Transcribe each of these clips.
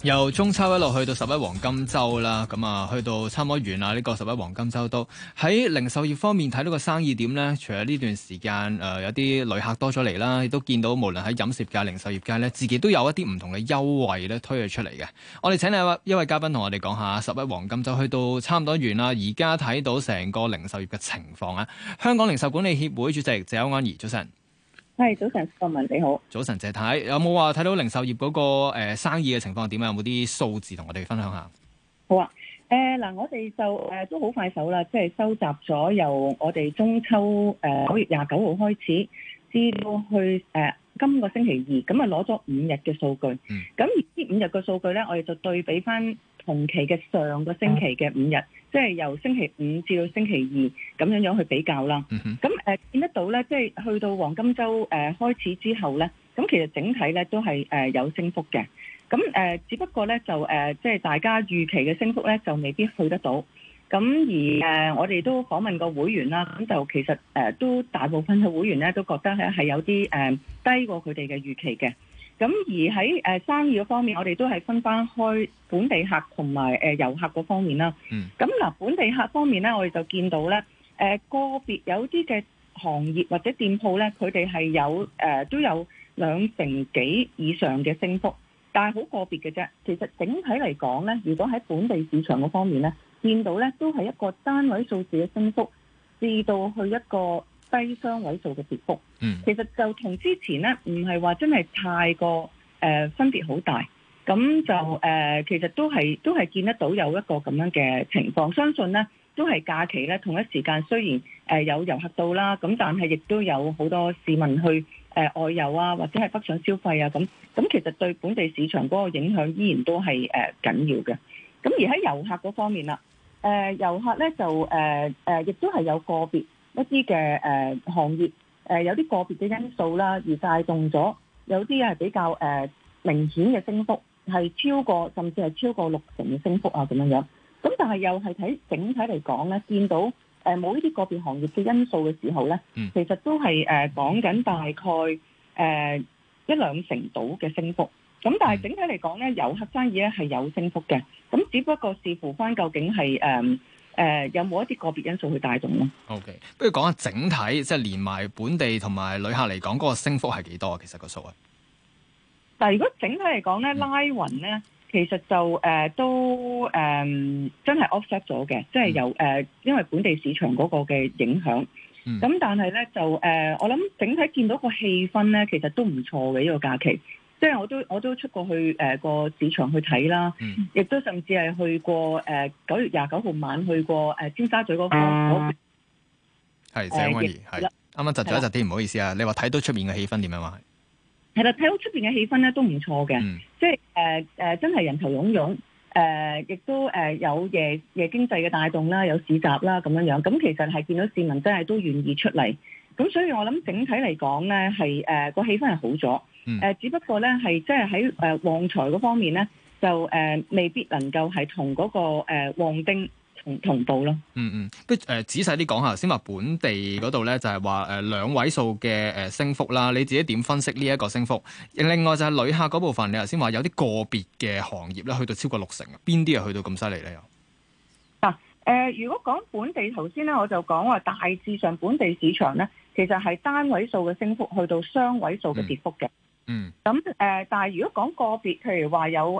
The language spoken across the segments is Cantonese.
由中秋一路去到十一黃金週啦，咁啊去到差唔多完啦。呢個十一黃金週都喺零售業方面睇到個生意點呢？除咗呢段時間有啲旅客多咗嚟啦，亦都見到無論喺飲食界、零售業界呢，自己都有一啲唔同嘅優惠咧推咗出嚟嘅。我哋請嚟一位嘉賓同我哋講下十一黃金週去到差唔多完啦，而家睇到成個零售業嘅情況啊。香港零售管理協會主席謝邱安儀，早晨。 係，早晨，郭文你好。早晨，謝太，有冇話睇到零售業嗰個生意嘅情況點啊？有冇啲數字同我哋分享下？ 好啊，嗱，我哋就都好快手啦，即係收集咗由我哋中秋9月29號開始，至到去今個星期二，咁啊攞咗5日嘅數據。咁而呢5日嘅數據咧，我哋就對比翻同期嘅上個星期嘅5日，即係由星期五至到星期二咁樣去比較啦。咁見得到咧，即係去到黃金週開始之後咧，咁其實整體咧都係有升幅嘅。咁只不過咧就即係大家預期嘅升幅咧就未必去得到。咁而我哋都訪問過會員啦，咁就其實都大部分嘅會員咧都覺得咧係有啲低過佢哋嘅預期嘅。咁而喺生意嗰方面，我哋都係分翻開本地客同埋遊客嗰方面啦。咁嗱，本地客方面咧，我哋就見到咧個別有啲嘅行業或者店鋪咧，佢哋係有都有2成幾以上嘅升幅，但係好個別嘅啫。其實整體嚟講咧，如果喺本地市場嗰方面咧，見到咧都係一個單位數字嘅升幅，至到去一個低雙位數嘅跌幅。其實就同之前咧唔係話真係太過分別好大。咁就其實都係見得到有一個咁樣嘅情況。相信咧都係假期咧同一時間，雖然有遊客到啦，咁但係亦都有好多市民去外遊啊，或者係北上消費啊咁其實對本地市場嗰個影響依然都係緊要嘅。咁而喺遊客嗰方面啦，遊客咧就亦都係有個別一啲嘅行業有啲個別嘅因素啦，而帶動咗有啲係比較明顯嘅升幅，係超過甚至係超過6成嘅升幅啊咁樣樣。咁但係又係睇整體嚟講咧，見到冇呢啲個別行業嘅因素嘅時候咧，其實都係講緊大概1-2成度嘅升幅。咁但係整體嚟講咧，遊客生意咧係有升幅嘅。咁只不過視乎翻究竟係有冇一啲個別因素去帶動咯。 OK， 不如講下整體，即係連埋本地同埋旅客嚟講，嗰個升幅係幾多啊？其實個數啊？ 但係如果整體嚟講咧，拉勻咧，其實就都真係 offset 咗嘅，即係由因為本地市場嗰個嘅影響。咁但係咧就我諗整體見到個氣氛咧，其實都唔錯嘅呢個假期。即係我都出過去個市場去睇啦，亦都甚至係去過9月29號晚去過尖沙咀嗰方。 係謝邱安儀，係啱啱窒咗一窒啲，唔好意思啊！你話睇到出面嘅氣氛點樣話？ 係啦，睇到出面嘅氣氛咧都唔錯嘅，即係真係人頭湧湧，亦都有夜經濟嘅帶動啦，有市集啦咁樣樣。咁其實係見到市民真係都願意出嚟，咁所以我諗整體嚟講咧係個氣氛係好咗。只不過咧係即係喺旺財嗰方面咧，就未必能夠係同嗰個旺丁同步咯。 不如仔細啲講下先，話本地嗰度咧就係話2位數嘅升幅啦。你自己點分析呢一個升幅？另外就係旅客嗰部分，你頭先話有啲個別嘅行業咧去到超過6成，邊啲係去到咁犀利咧？ 如果講本地，頭先咧我就講話大致上本地市場咧，其實係單位數嘅升幅去到雙位數嘅跌幅嘅。咁但係如果講個別，譬如話有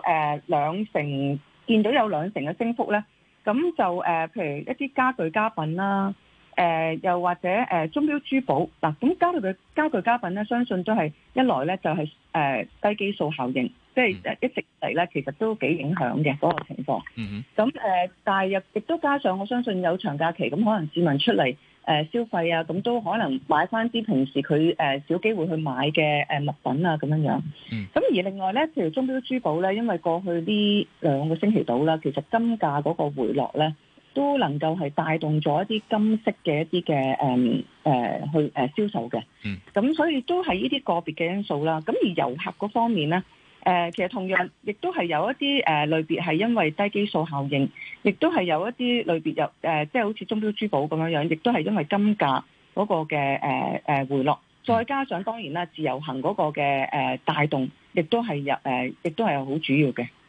2成，見到有2成嘅升幅咧，咁就譬如一啲家具家品啦，又或者鐘錶珠寶嗱，咁家具家品咧，相信都係一來咧就係低基數效應，即係一直嚟咧其實都幾影響嘅嗰個情況。咁但係亦都加上我相信有長假期，咁可能市民出嚟消費啊，咁都可能買翻啲平時佢少機會去買嘅物品啊咁樣樣。咁而另外咧，譬如鐘錶珠寶咧，因為過去呢2個星期到啦，其實金價嗰個回落咧，都能夠係帶動咗一啲金飾嘅一啲嘅去銷售嘅。咁所以都係呢啲個別嘅因素啦。咁而遊客嗰方面咧，其實同樣亦都係有一啲類別係因為低基數效應，亦都係有一啲類別有即係好似鐘錶珠寶咁樣樣，亦都係因為金價嗰個嘅回落，再加上當然啦自由行嗰個嘅帶動，亦都係好主要嘅。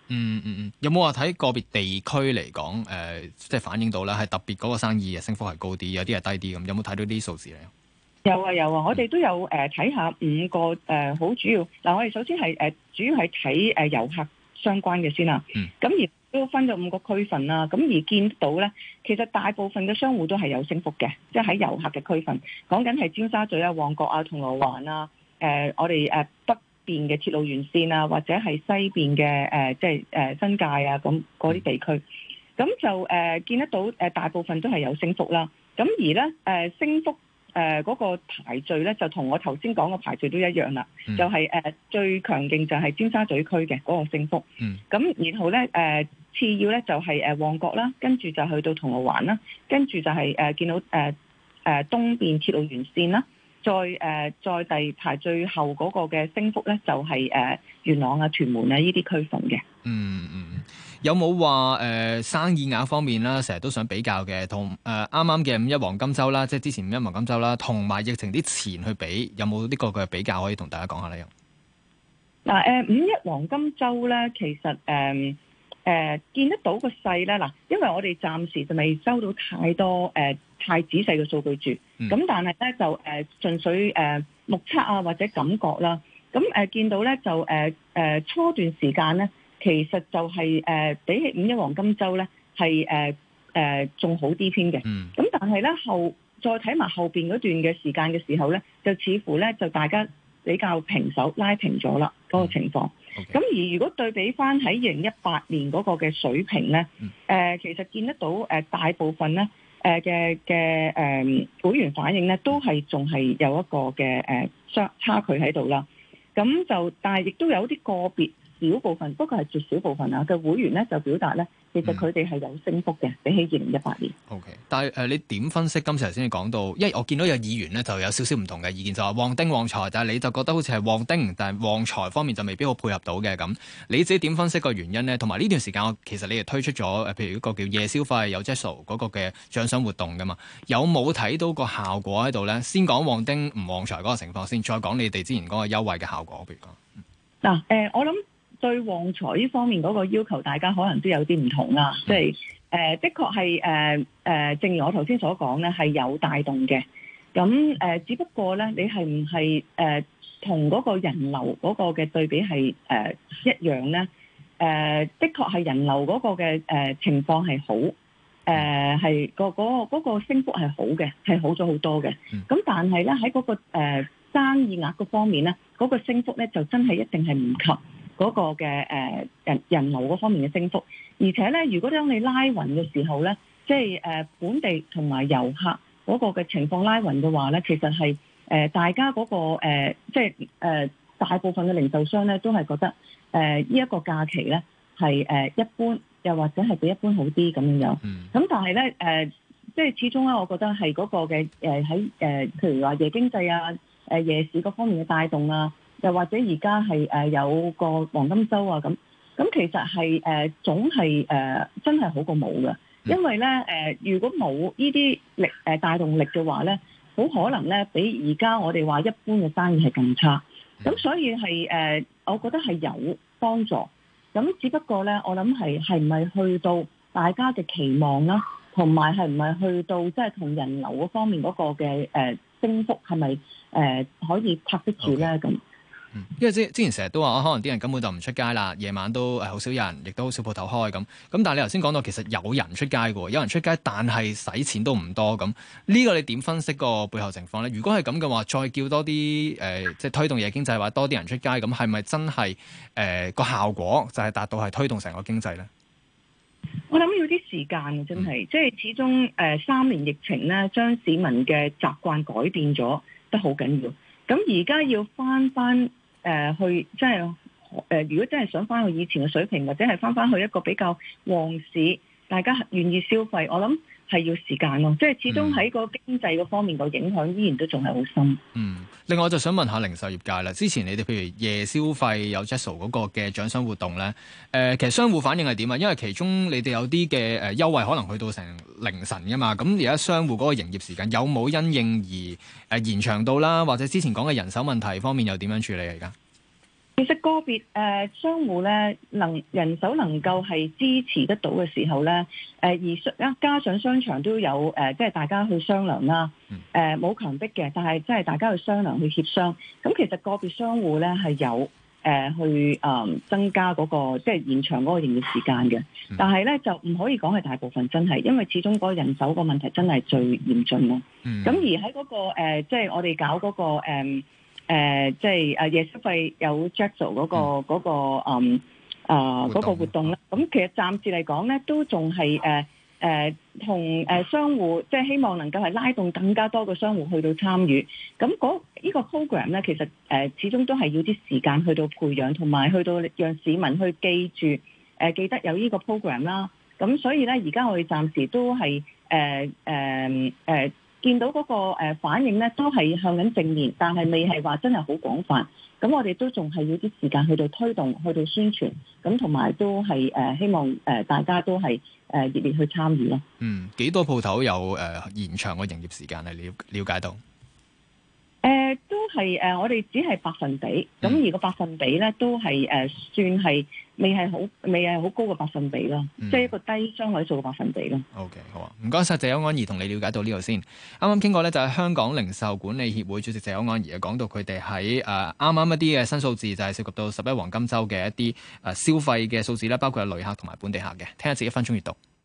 有冇話睇個別地區嚟講，即係反映到咧係特別嗰個生意嘅升幅係高啲，有啲係低啲咁？有冇睇到啲數字咧？ 有啊有啊，我哋都有睇下5個好主要嗱，我哋首先係主要係睇遊客相關嘅先啦。咁而都分咗5個區份啦。咁而見到咧，其實大部分嘅商戶都係有升幅嘅，即係喺遊客嘅區份，講緊係尖沙咀啊、旺角啊、銅鑼灣啊、我哋北邊嘅鐵路沿線啊，或者係西邊嘅即係新界啊咁嗰啲地區，咁就見得到大部分都係有升幅啦。咁而咧升幅嗰個排序咧，就同我頭先講嘅排序都一樣啦。就係最強勁就係尖沙咀區嘅嗰個升幅。咁然後咧次要咧就係旺角啦，跟住就去到銅鑼灣啦，跟住就係見到東邊鐵路沿線啦。再排最後嗰個嘅升幅咧，就係元朗啊、屯門啊呢啲區份嘅。 有冇話生意額方面啦，成日都想比較嘅，同啱啱嘅五一黃金週啦，即係之前五一黃金週啦，同埋疫情啲前去比，有冇呢個嘅比較可以同大家講下咧？ 嗱五一黃金週咧，其實見得到個勢咧，嗱，因為我哋暫時就未收到太多太仔細嘅數據住，咁但係咧就純粹目測啊或者感覺啦，咁見到咧就初段時間咧，其實就係比起五一黃金週咧係仲好啲添嘅，咁但係咧再睇埋後邊嗰段嘅時間嘅時候咧，就似乎咧就大家比較平手拉平咗啦嗰個情況。咁而如果對比翻喺2018年嗰個嘅水平咧，其實見得到大部分咧嘅會員反應咧，都係仲係有一個嘅差距喺度啦。咁就但係亦都有啲個別少部分，不過係絕少部分啊嘅會員咧就表達咧，其實佢哋係有升幅嘅，比起2018年。 OK， 但係你點分析今次頭先你講到，因為我見到有議員咧就有少少唔同嘅意見，就話旺丁旺財，但係你就覺得好似係旺丁，但係旺財方面就未必好配合到嘅咁。你自己點分析個原因咧？同埋呢段時間，其實你哋推出咗譬如一個叫夜消費有 Jetso 嗰個嘅獎賞活動噶嘛，有冇睇到個效果喺度咧？先講旺丁唔旺財嗰個情況先，再講你哋之前嗰個優惠嘅效果，譬如講。 嗱我諗對旺財呢方面嗰個要求，大家可能都有啲唔同啦。即係的確係正如我頭先所講咧，係有帶動嘅。咁只不過咧，你係唔係同嗰個人流嗰個嘅對比係一樣咧？的確係人流嗰個嘅情況係好，係嗰個升幅係好嘅，係好咗好多嘅。咁但係咧喺嗰個生意額嗰方面咧，嗰個升幅咧就真係一定係唔及嗰個嘅人流嗰方面嘅升幅。而且咧，如果當你拉勻嘅時候咧，即係本地同埋遊客嗰個嘅情況拉勻嘅話咧，其實係大家嗰個即係大部分嘅零售商咧都係覺得呢一個假期咧係一般，又或者係比一般好啲咁樣樣。咁但係咧即係始終咧，我覺得係嗰個嘅喺譬如話夜經濟啊、夜市嗰方面嘅帶動啊，又或者而家係有個黃金週啊咁其實係總係真係好過冇嘅，因為咧如果冇呢啲力帶動力嘅話咧，好可能咧比而家我哋話一般嘅生意係更差。咁所以係我覺得係有幫助。咁只不過咧，我諗係唔係去到大家嘅期望啦，同埋係唔係去到即係同人流嗰方面嗰個嘅升幅係咪可以拍得住咧咁？ 因為之前成日都話可能啲人根本就唔出街啦，夜晚都好少人，亦都好少鋪頭開咁。但係你頭先講到其實有人出街嘅，有人出街，但係使錢都唔多咁。呢個你點分析個背後情況咧？如果係咁嘅話，再叫多啲即係推動夜經濟，或者多啲人出街，咁係咪真係個效果就係達到係推動成個經濟咧？ 我諗要啲時間嘅，真係，即係始終3年疫情咧，將市民嘅習慣改變咗，得好緊要。咁而家要翻去，即係如果真係想翻去以前嘅水平，或者係翻去一個比較旺市，大家願意消費，我諗係要時間咯。即係始終喺個經濟嗰方面個影響依然都仲係好深。 另外我就想問下零售業界啦，之前你哋譬如夜消費有 Jetso 嗰個嘅獎賞活動咧，其實商戶反應係點啊？因為其中你哋有啲嘅優惠可能去到成凌晨㗎嘛，咁而家商戶嗰個營業時間有冇因應而延長到啦？或者之前講嘅人手問題方面又點樣處理啊？而家其實個別商戶咧人手能夠係支持得到嘅時候咧，而加上商場都有即係大家去商量啦，冇強迫嘅，但係即係大家去商量去協商。咁其實個別商戶咧係有去增加嗰個即係延長嗰個營業時間嘅，但係咧就唔可以講係大部分真係，因為始終嗰個人手個問題真係最嚴峻咯。咁而喺嗰個即係我哋搞嗰個即係夜消費有 Jackal 嗰個活動啦。咁其實暫時嚟講咧，都仲係同商戶即係希望能夠係拉動更加多嘅商戶去到參與。咁呢個 program 咧，其實始終都係要啲時間去到培養，同埋去到讓市民去記住記得有呢個 program 啦。咁所以咧，而家我哋暫時都係見到嗰個反應咧，都係向緊正面，但係未係話真係好廣泛。咁我哋都仲係要啲時間去到推動，去到宣傳，咁同埋都係希望大家都係熱烈去參與咯。 幾多鋪頭有延長個營業時間係了解到？ 都係我哋只係百分比，咁而個百分比咧都係算係未係好高嘅百分比咯，即係一個低雙位數嘅百分比咯。 OK， 好啊，唔該晒謝邱安儀同你了解到呢度先。啱啱傾過咧，就係香港零售管理協會主席謝邱安儀講到佢哋喺啱啱一啲嘅新數字，就係涉及到11黃金週嘅一啲消費嘅數字啦，包括係旅客同埋本地客嘅。聽一節1分鐘閱讀。